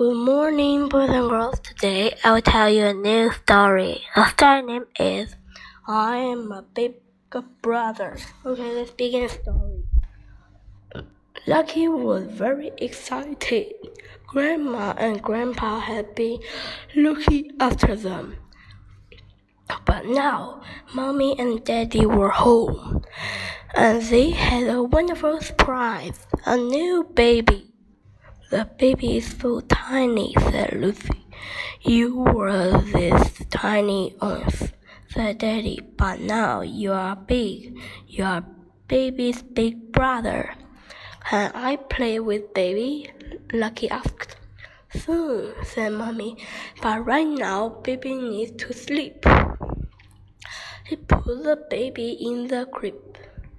Good morning, boys and girls. Today I will tell you a new story. The story name is I Am a Big Brother. Okay, let's begin the story. Lucky was very excited. Grandma and Grandpa had been looking after them. But now, Mommy and Daddy were home, and they had a wonderful surprise, a new baby. The baby is so tiny, said Lucy. You were this tiny once, said Daddy, but now you are big. You are baby's big brother. Can I play with baby? Lucky asked. Soon, said Mommy, but right now baby needs to sleep. He put the baby in the crib.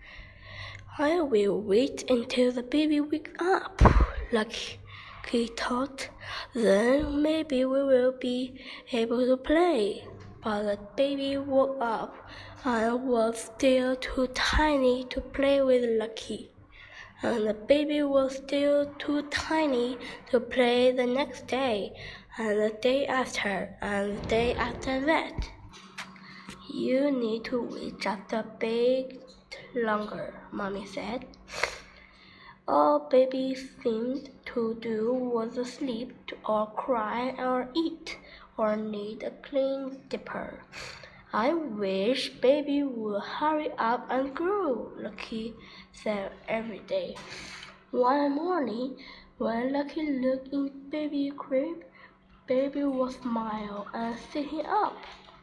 I will wait until the baby wakes up, Lucky thought. Then maybe we will be able to play. But the baby woke up and was still too tiny to play with Lucky. And the baby was still too tiny to play the next day, and the day after, and the day after that. You need to wait just a bit longer, Mommy said. All baby seemed to do was sleep or cry or eat or need a clean diaper. I wish baby would hurry up and grow, Lucky said every day. One morning, when Lucky looked in baby's crib, baby was smiling and sitting up.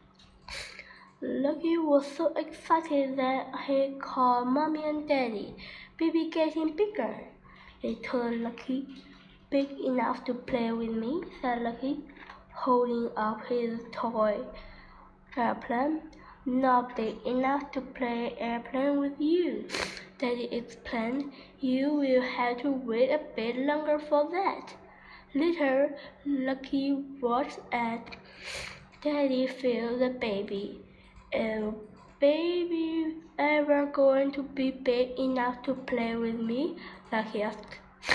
Lucky was so excited that he called Mommy and Daddy. Baby getting bigger, they told Lucky. Big enough to play with me, said Lucky, holding up his toy airplane. Not big enough to play airplane with you, Daddy explained. You will have to wait a bit longer for that. Later, Lucky watched as Daddy filled the baby. Is baby ever going to be big enough to play with me? Lucky asked.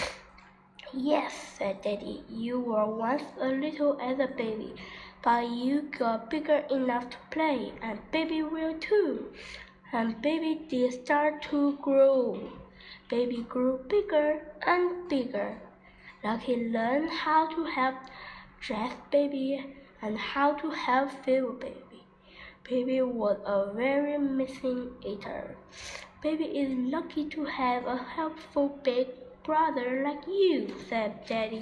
Yes, said Daddy. You were once a little as a baby, but you got bigger enough to play, and baby will too. And baby did start to grow. Baby grew bigger and bigger. Lucky learned how to help dress baby and how to help feed baby. Baby was a very missing eater. Baby is lucky to have a helpful big brother like you, said Daddy.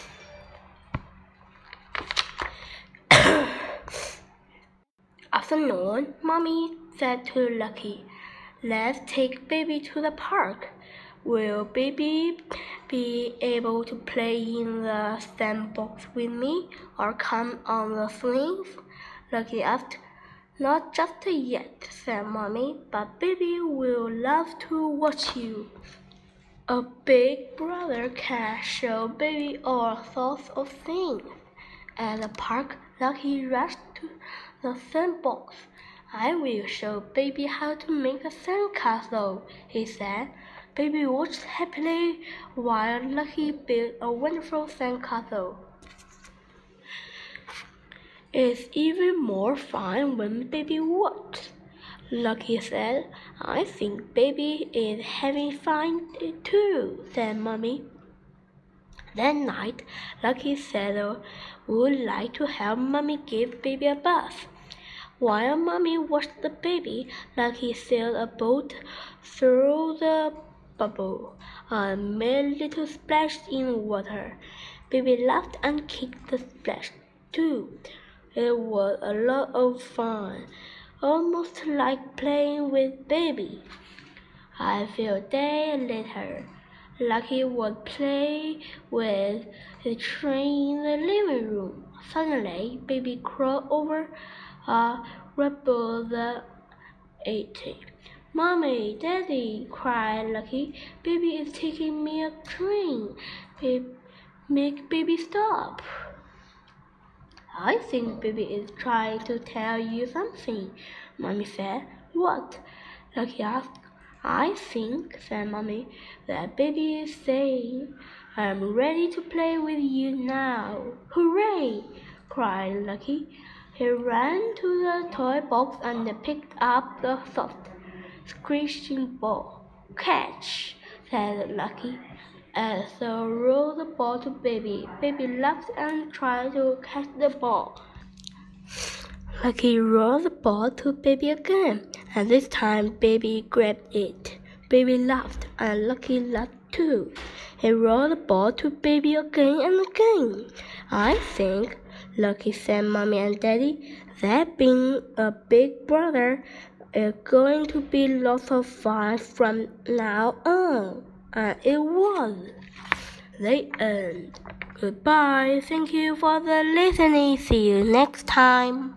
Afternoon, Mommy said to Lucky, let's take baby to the park. Will baby be able to play in the sandbox with me or come on the swings? Lucky asked. Not just yet, said Mommy, but baby will love to watch you. A big brother can show baby all sorts of things. At the park, Lucky rushed to the sandbox. I will show baby how to make a sandcastle, he said. Baby watched happily while Lucky built a wonderful sandcastle. It's even more fun when baby watches, Lucky said. I think baby is having fun too, said Mommy. That night, Lucky said would like to help Mommy give baby a bath. While Mommy watched the baby, Lucky sailed a boat through the bubble and made a little splash in water. Baby laughed and kicked the splash too. It was a lot of fun, almost like playing with baby. A few days later, Lucky was playing with the train in the living room. Suddenly, baby crawled over a rubble that ate it. Mommy, Daddy, cried Lucky. Baby is taking me a train. Make baby stop. I think baby is trying to tell you something, Mommy said. What? Lucky asked. I think, said Mommy, that baby is saying I'm ready to play with you now. Hooray! Cried Lucky. He ran to the toy box and picked up the soft, squishing ball. Catch! Said Lucky. So rolled the ball to Baby. Baby laughed and tried to catch the ball. Lucky rolled the ball to Baby again, and this time Baby grabbed it. Baby laughed, and Lucky laughed too. He rolled the ball to Baby again and again. I think, Lucky said Mommy and Daddy, that being a big brother is going to be lots of fun from now on. And it was. The end. Goodbye. Thank you for the listening. See you next time.